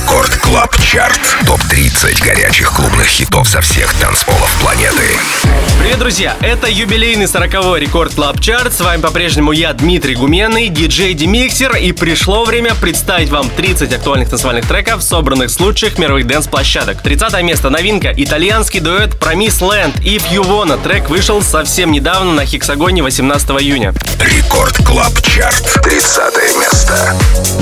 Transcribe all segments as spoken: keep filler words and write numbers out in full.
Рекорд Клаб Чарт. топ тридцать горячих клубных хитов со всех танцполов планеты. Привет, друзья! Это юбилейный сороковой Рекорд Клаб Чарт. С вами по-прежнему я, Дмитрий Гуменный, диджей Демиксер. И пришло время представить вам тридцать актуальных танцевальных треков, собранных с лучших мировых дэнс-площадок. тридцатое место. Новинка. Итальянский дуэт Promise Land. If You Wanna. Трек вышел совсем недавно на Хексагоне восемнадцатого июня. Рекорд Клаб Чарт. тридцатое место.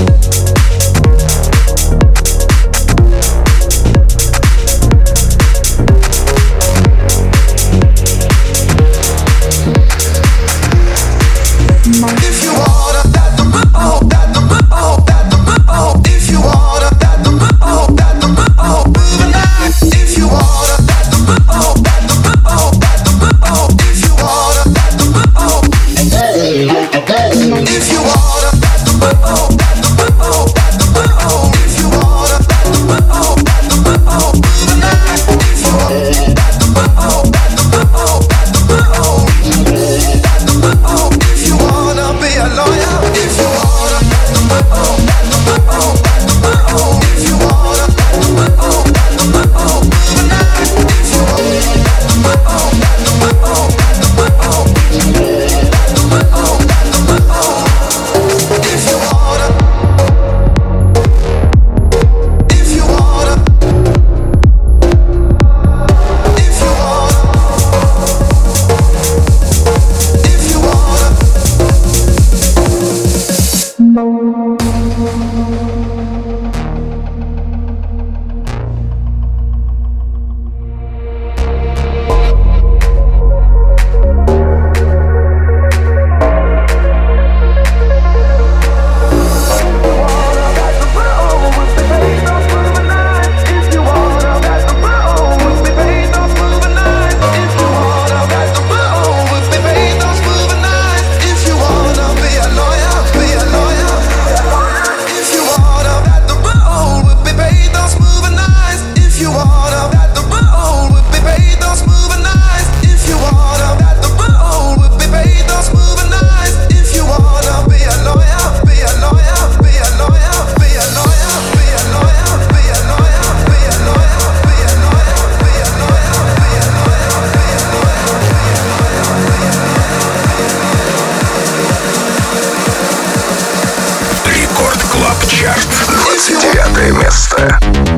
двадцать девятое место.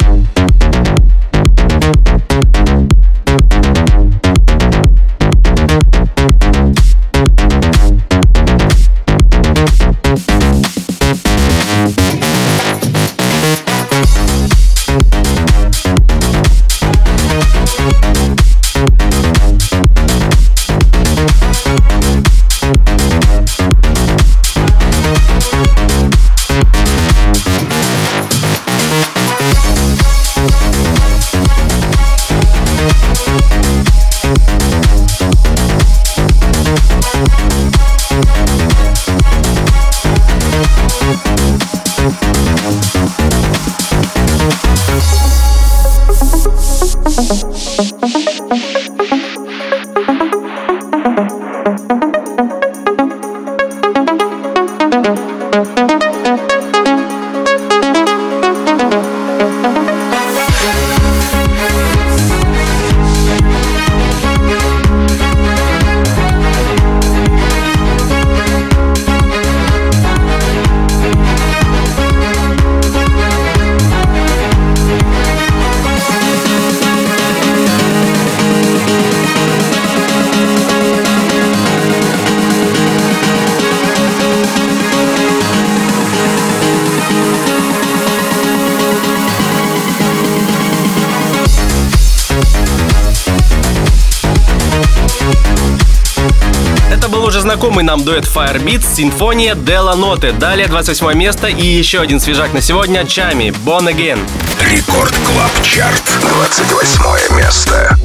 Знакомый нам дуэт Firebeatz, Симфония Della Notte. Далее двадцать восьмое место и еще один свежак на сегодня — Чами, Born Again. Рекорд Клаб Чарт, двадцать восьмое место.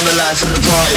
on the lights of the party.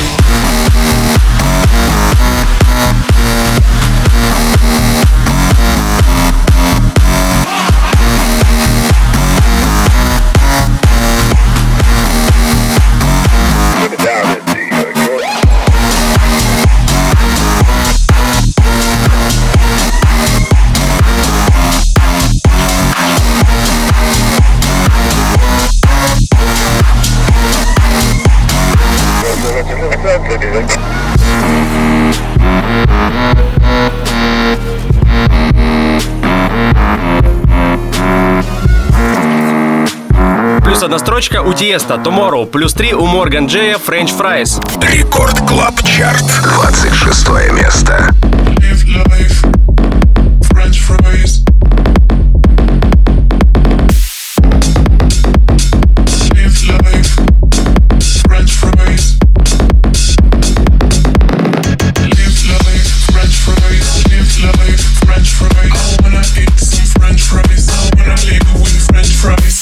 Плюс одна строчка у Тиеста, Tomorrow. Плюс три у Морган Джея, French Fries. Рекорд Клаб Чарт, двадцать шестое место. French fries. Live life, French fries. Live life, French fries. Live life, French fries. I wanna eat some French fries. I wanna live with French fries.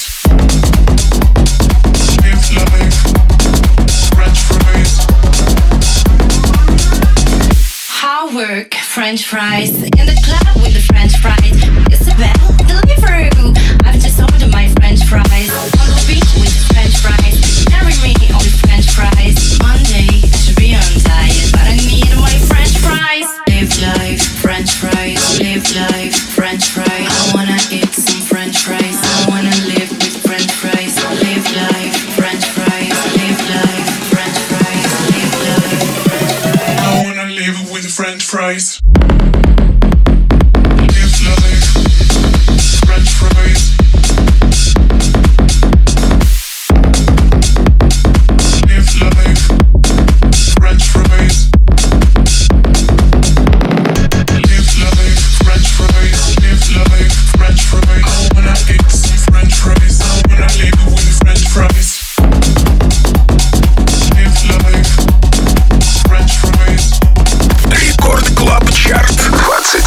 Live life, French fries. How work French fries in the club with the French fries. Isabel, Deliveroo. I've just ordered my French fries on the beach with the French fries. Marry me on the French fries. Monday I should be on diet, but I need my French fries. Live life, French fries. Live life, French fries. I wanna eat some French fries. I wanna live with French fries. Live life, French fries. Live life, French fries. Live life, French fries. I wanna live with French fries. Live life, French fries. Live life, French fries. Live life, French fries. Live life, French fries. I wanna eat some French fries. I wanna live with French fries. Live life, French fries. Рекорд Клаб Чарт, двадцать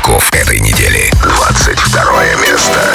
хитов этой недели. двадцать второе место.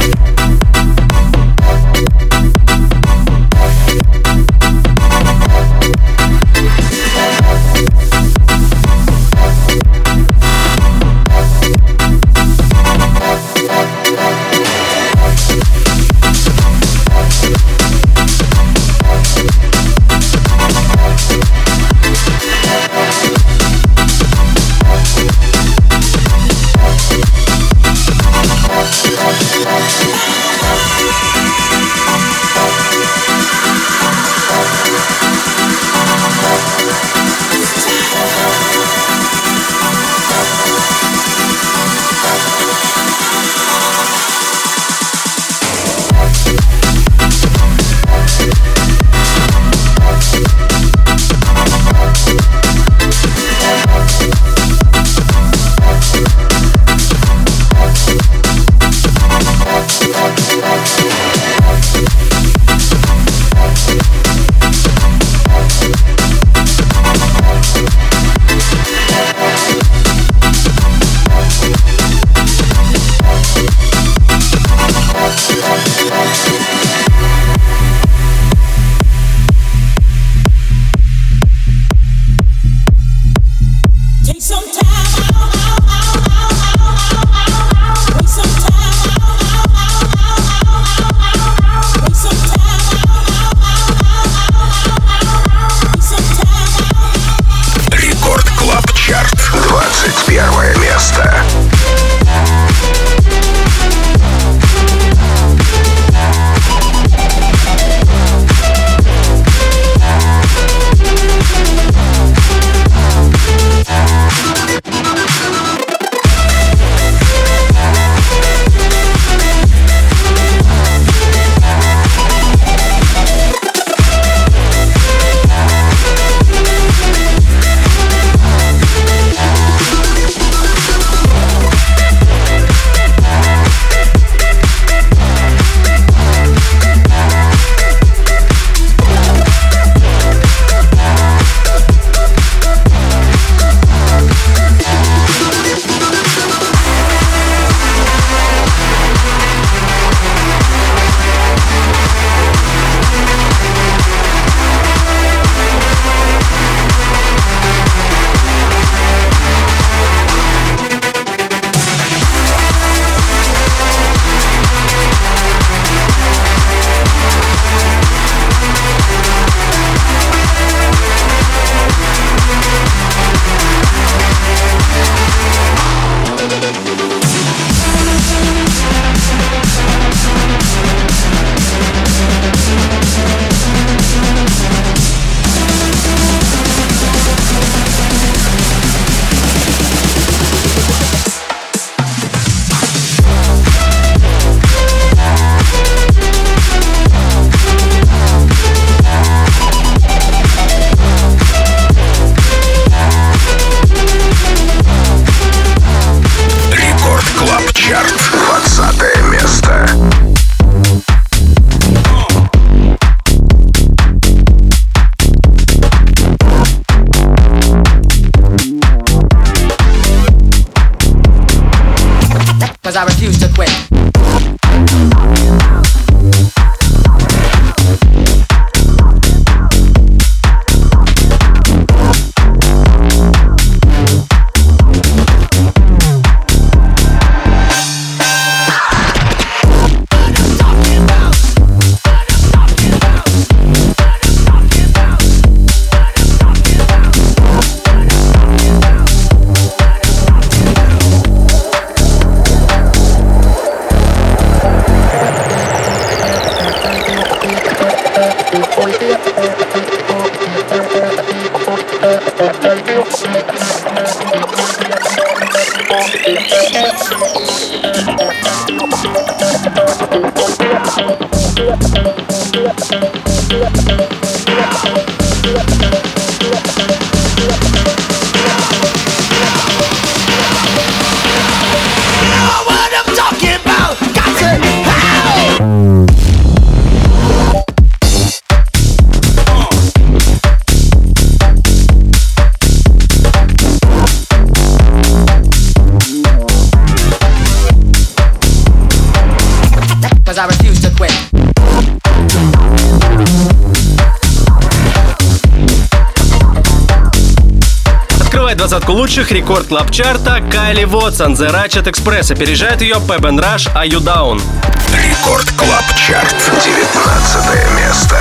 I refuse to quit. I refuse to quit. Открывает двадцатку лучших рекорд клаб чарта Кайли Вотсон, The Ratchet Express. Опережает ее Pep and Rush, Are You Down? Рекорд Клаб Чарт, девятнадцатое место.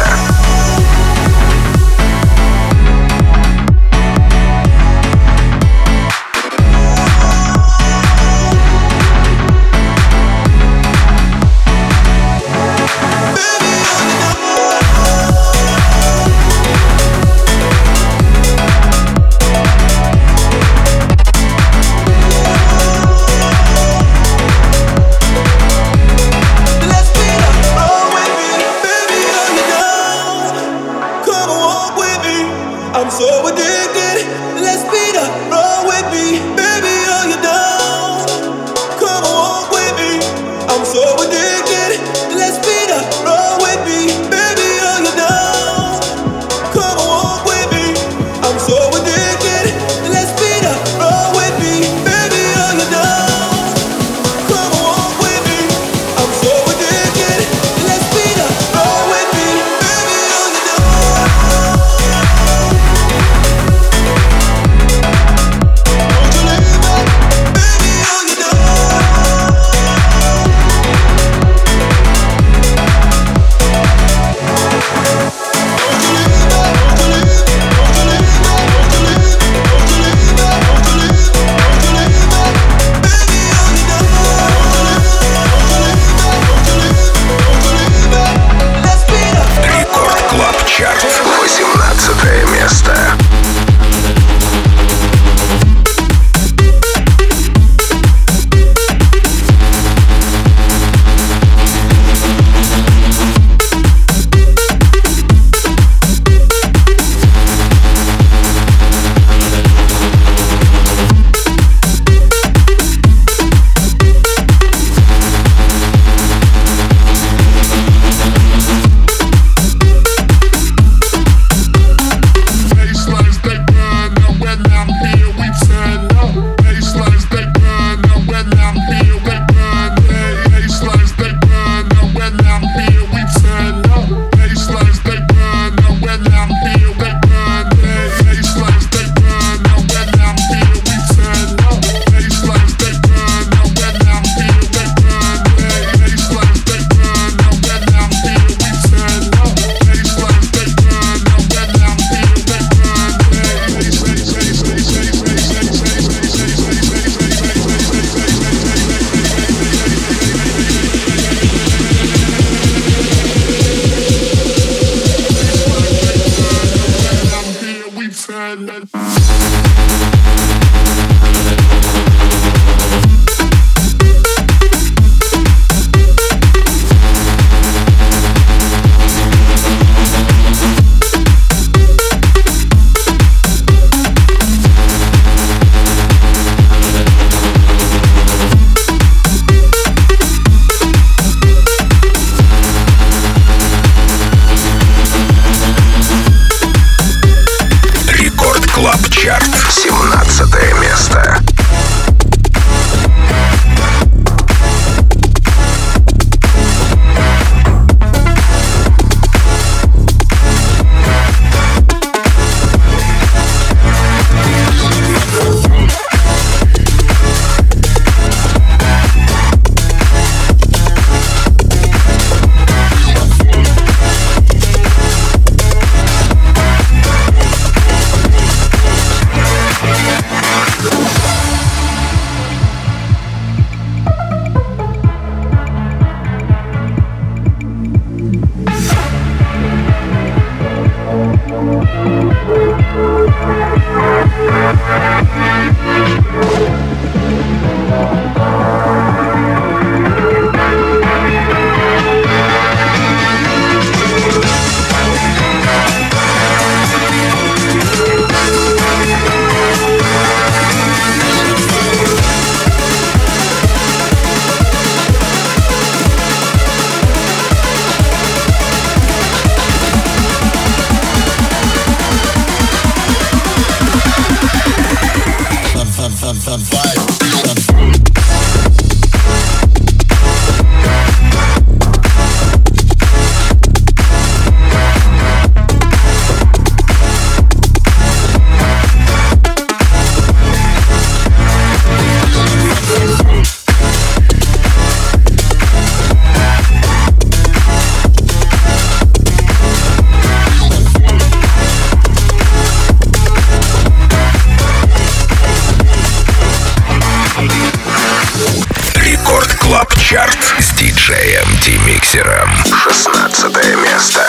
Диджеем Демиксером. шестнадцатое место.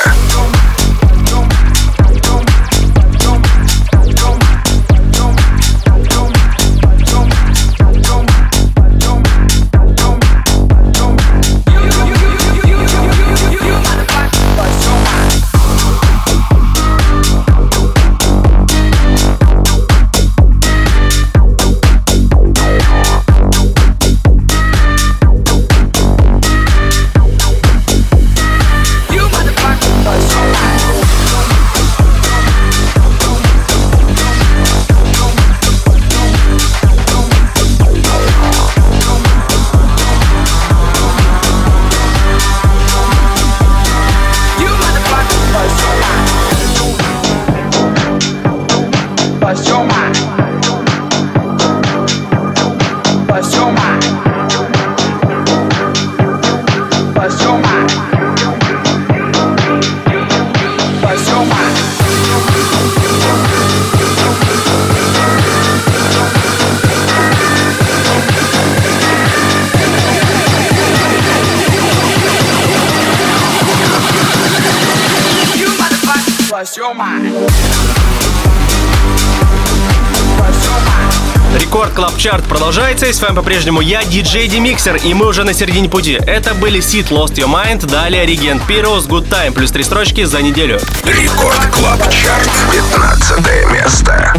Рекорд Клаб Чарт продолжается, и с вами по-прежнему я, диджей Демиксер, и мы уже на середине пути. Это были Sid Lost Your Mind, далее Regent Pyros Good Time, плюс три строчки за неделю. Рекорд Клаб Чарт, пятнадцатое место.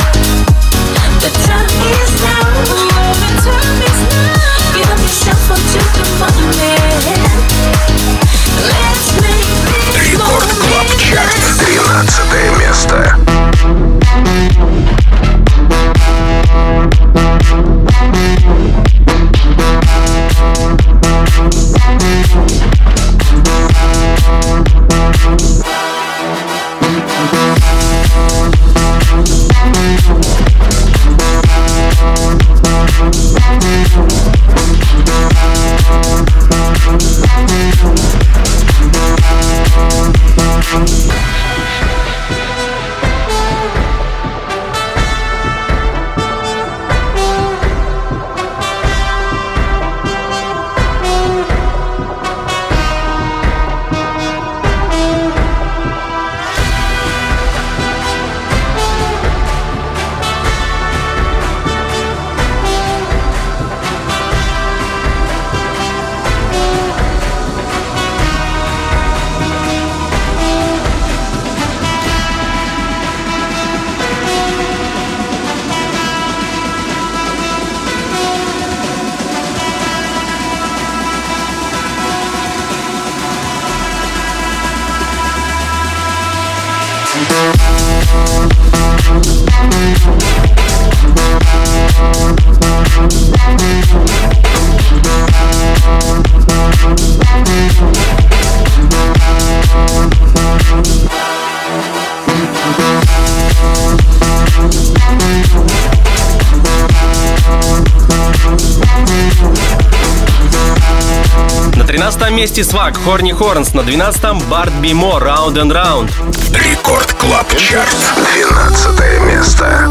The time is now. The time is now. Give up yourself until двенадцатом месте Свак, Horny Horns. На двенадцатом Барт Бимо, Round and Round. Рекорд Клаб Чарт. двенадцатое место.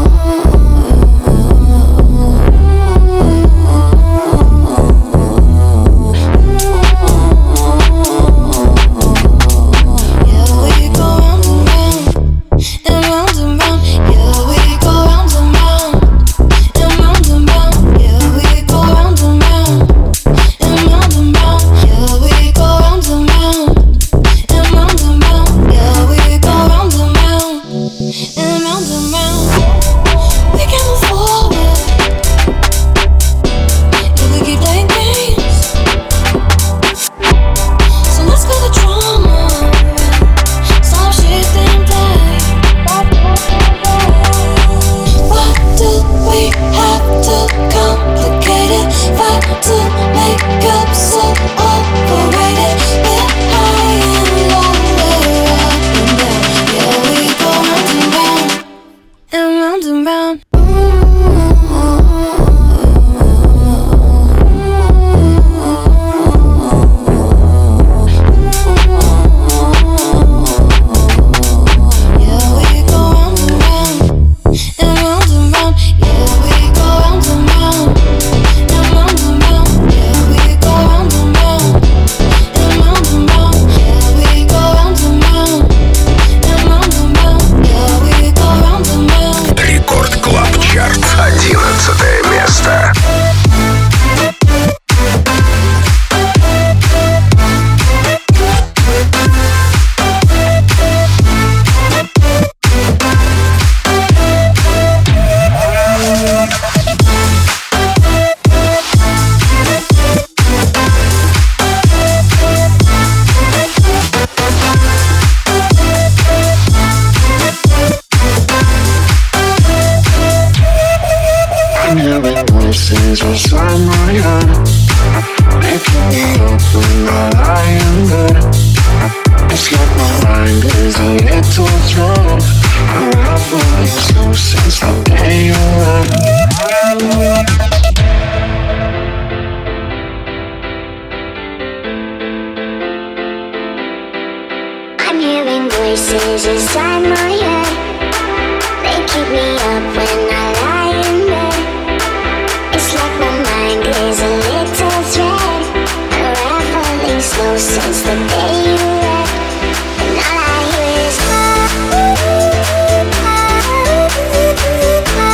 Since the day you left, and all I hear is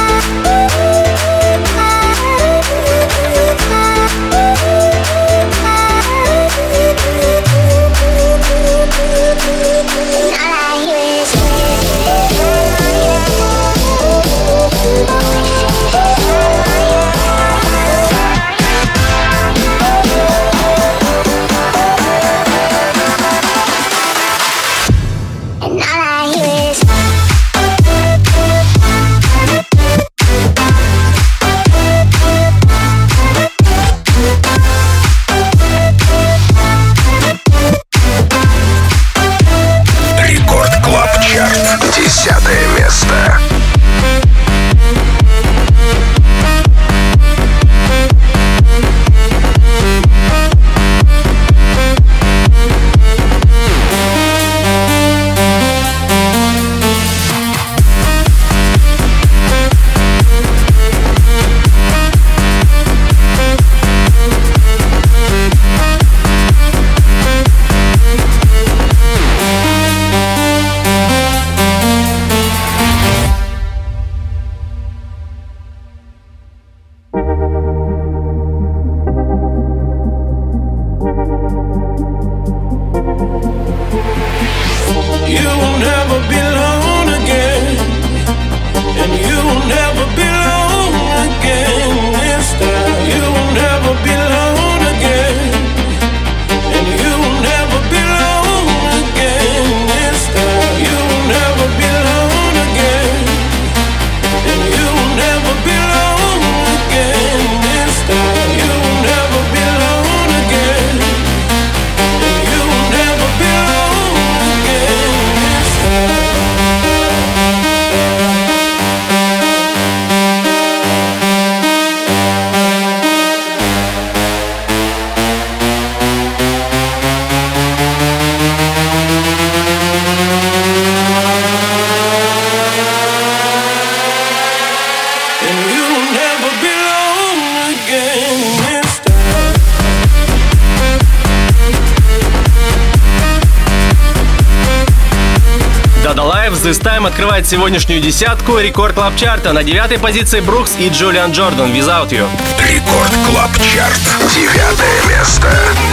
Five This Time открывает сегодняшнюю десятку Рекорд Клаб Чарта. На девятой позиции Брукс и Джулиан Джордан Without You. Рекорд Клаб Чарт. Девятое место.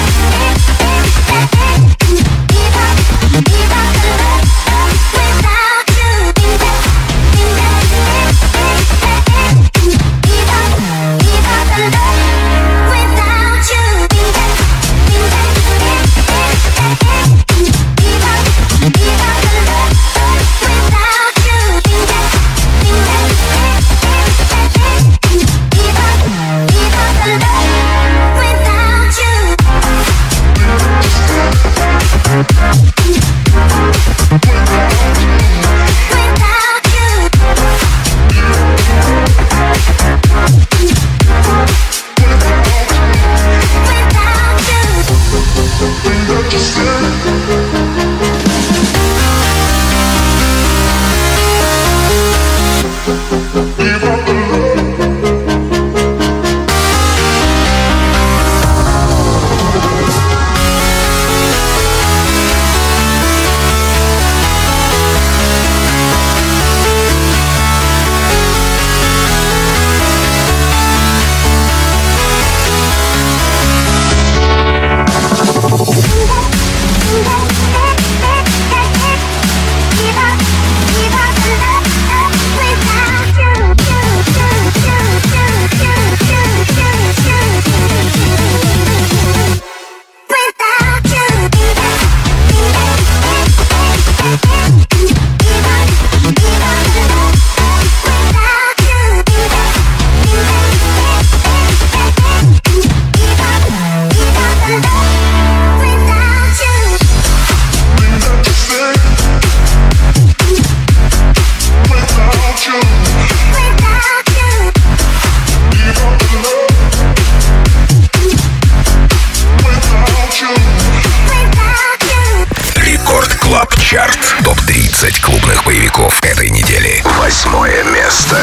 топ тридцать клубных боевиков этой недели. Восьмое место.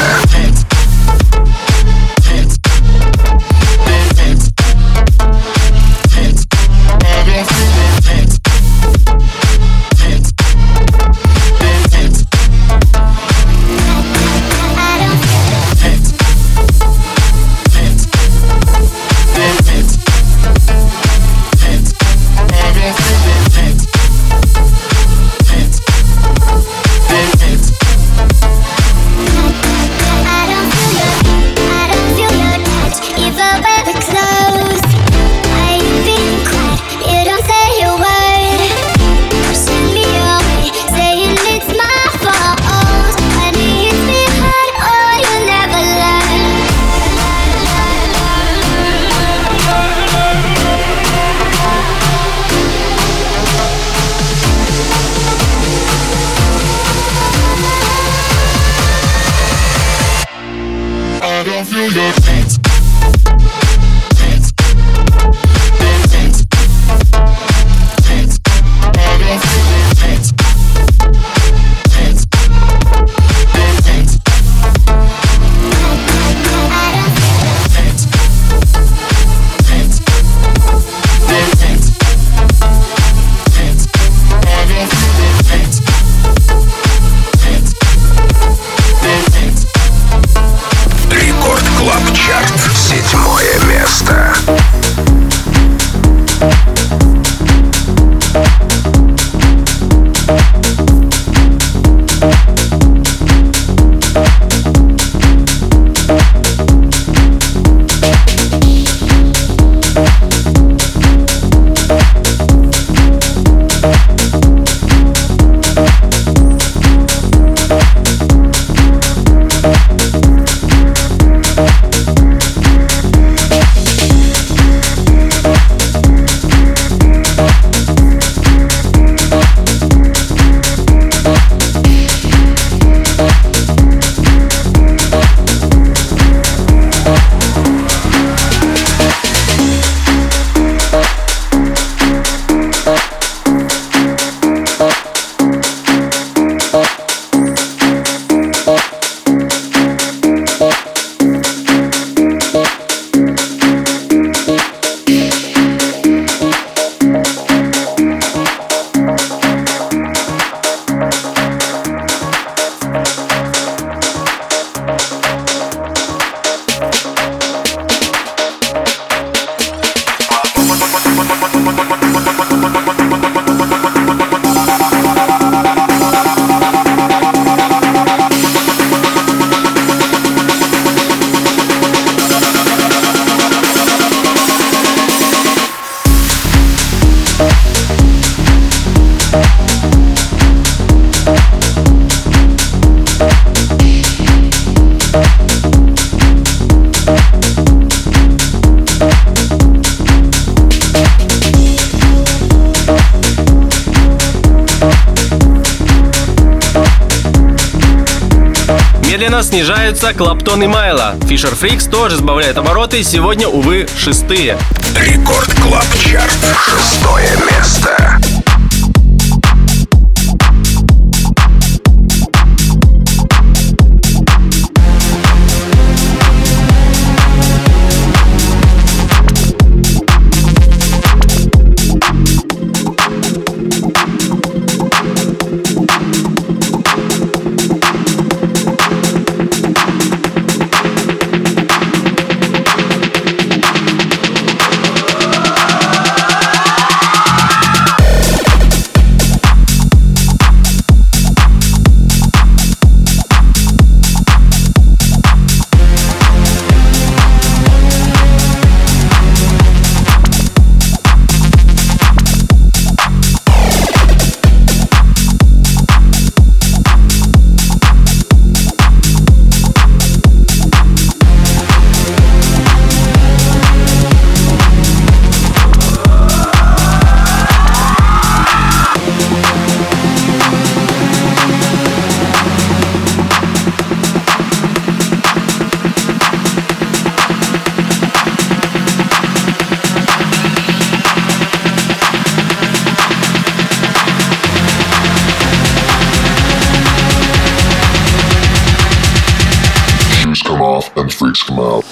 Клаб Чарт. медленно снижаются Клаптон и Майло. Fisher Freaks тоже сбавляет обороты, сегодня, увы, шестые. Рекорд Клаб Чарт. Шестое место. And freaks come out.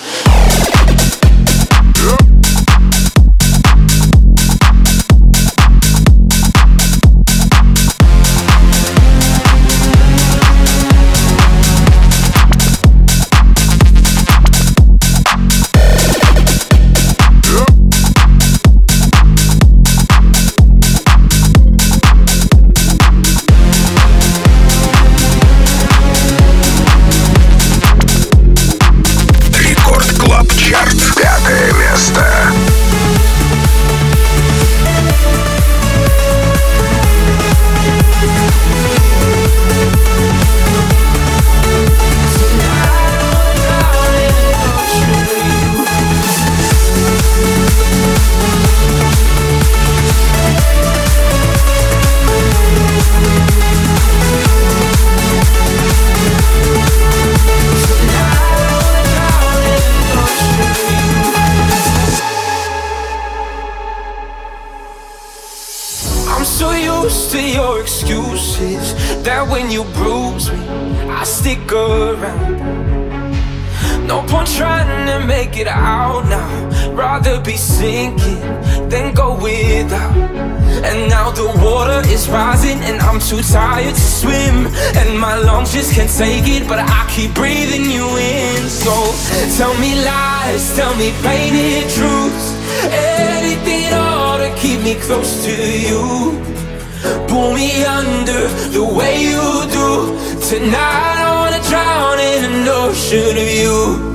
No point trying to make it out now. Rather be sinking than go without. And now the water is rising and I'm too tired to swim. And my lungs just can't take it, but I keep breathing you in. So tell me lies, tell me painted truths. Anything at all to keep me close to you. Pull me under the way you do. Tonight I wanna drown in an ocean of you.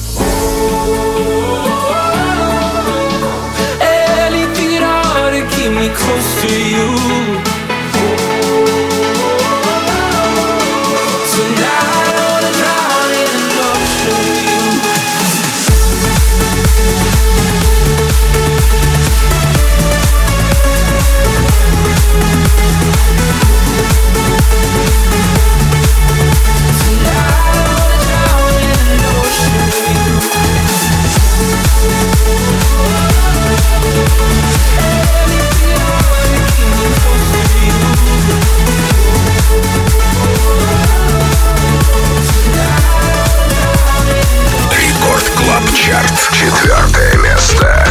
Anything at all to keep me close to you. Tonight I wanna drown in an ocean of you. Чарт. Четвертое место.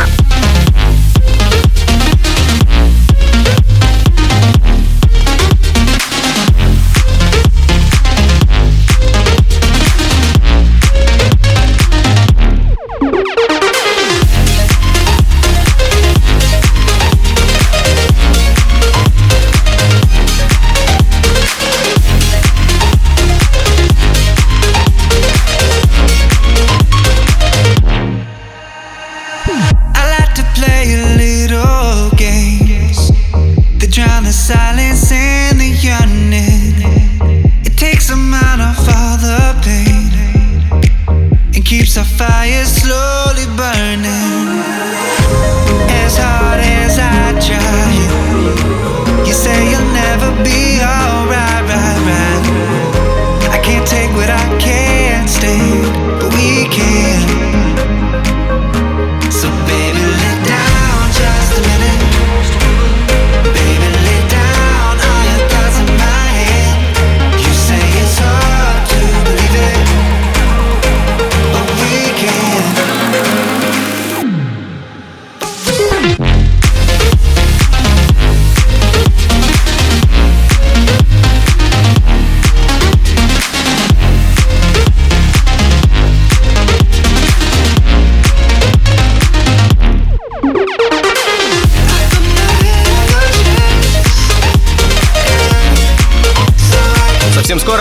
Silence and the yearning, it takes them out of all the pain and keeps our fire slowly burning. As hard as I try, you say you'll never be alright, right, right. I can't take what I can't.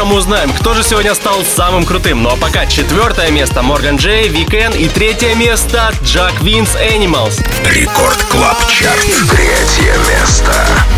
мы узнаем, кто же сегодня стал самым крутым. Ну а пока четвертое место Морган Джей, Weeknd и третье место Jack Винс Animals. Рекорд Клаб Чарт. Третье место.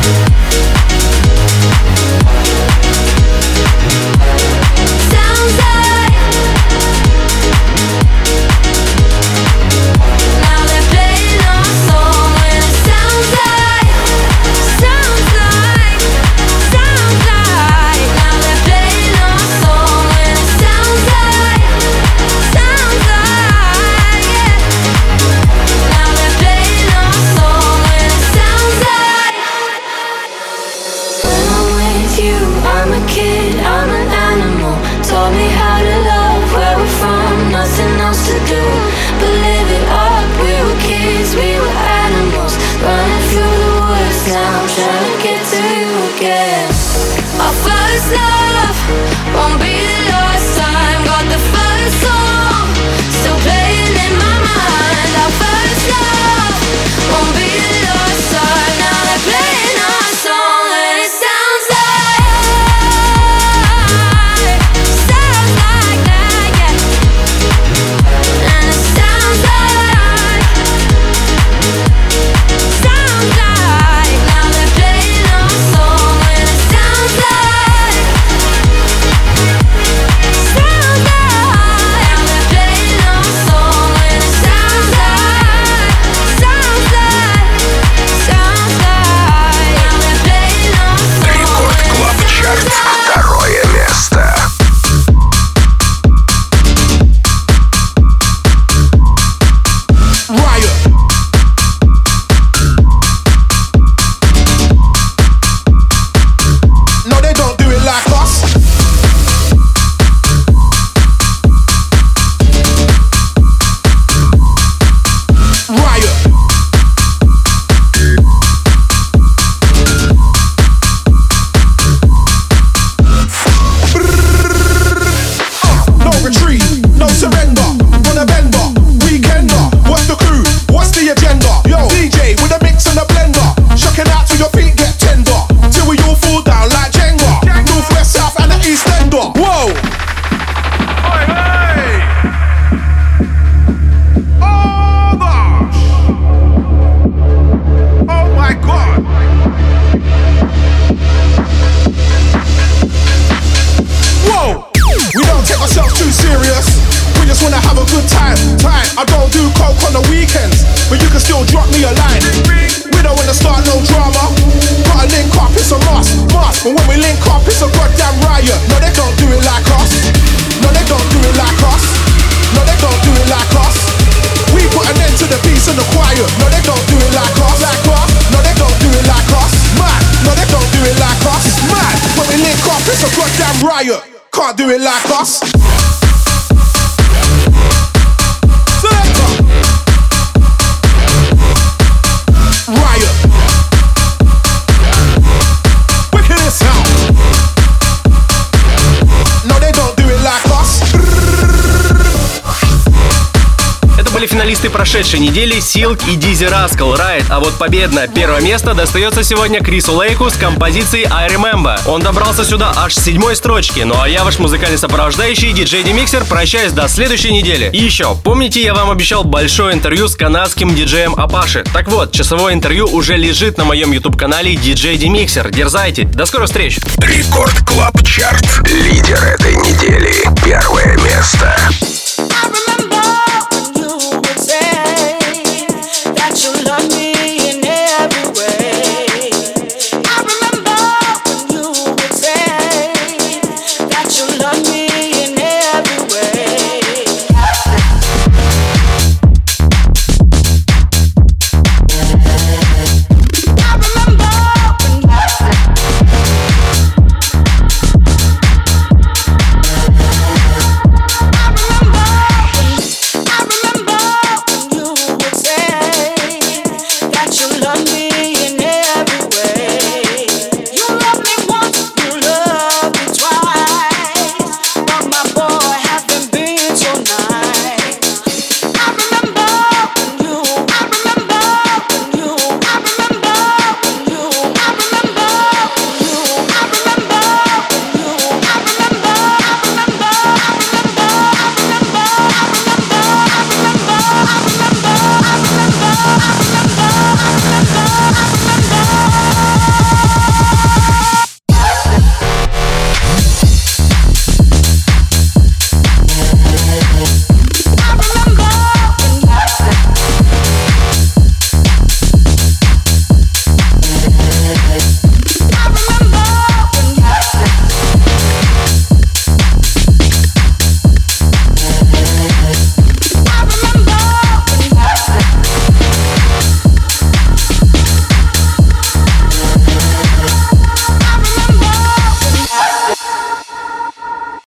Can't do it like us. Riot. Wicked sound. No, they don't do it like us. Это были финалисты прошедшей недели Silk и Dizzy Rascal Riot, а вот победное первое место достается сегодня Крису Лейку с композицией I Remember. Он добрался сюда аж с седьмой строчки, ну а я ваш музыкальный сопровождающий диджей Демиксер прощаюсь до следующей недели. И еще, помните, я вам обещал большое интервью с канадским диджеем Апаши? Так вот, часовое интервью уже лежит на моем YouTube-канале диджей Демиксер. Дерзайте, до скорых встреч! Рекорд Клаб Чарт. Лидер этой недели. Первое место.